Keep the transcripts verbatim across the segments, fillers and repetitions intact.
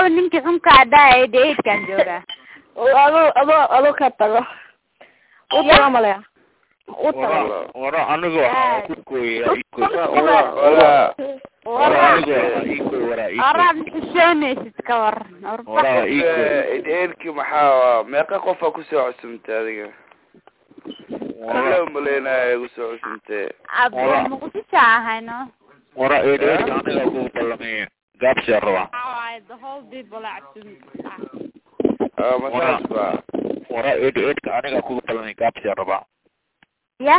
aawo ninkii xunka adaa deedkan jooga ado ado ado ka tago uta malaya uta wara anigu ku kooyay wara wara wara iko wara iko arab xishoonaysid ka war wara iko eedki maxaa meeqa qof ku soo cusubtay adiga wala maleenay ku soo cusubtay abba ma ku taahayno wara eedki aniga ku ballamay gaabsi arwa ay the whole people acting ah masasba wara eedki aniga ku ballamay gaabsi arwa ya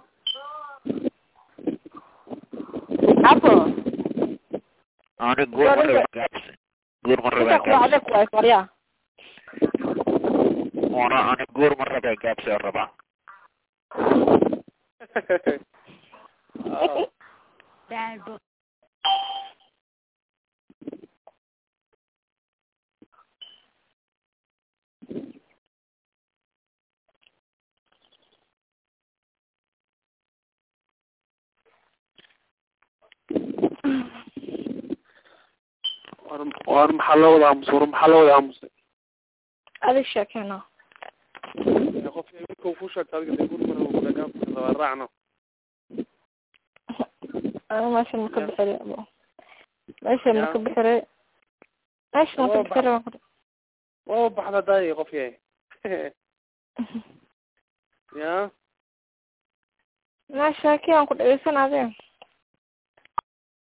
apo أنا أقول مرة بقابس أقول مرة بقابس أنا أنا أقول مرة بقابس يا ربع وأنا محلو ذا مصور محلو ذا مصور هذا الشيء هنا يا خوف يمكن فوشة تلقى يقول مرة ولا جاب ورعنا أنا ماشي مكب حري أبو ماشي مكب حري ماشي مكب حري واو بحنا داي خوف يا يا ماشي كي أنقل إيسان هذا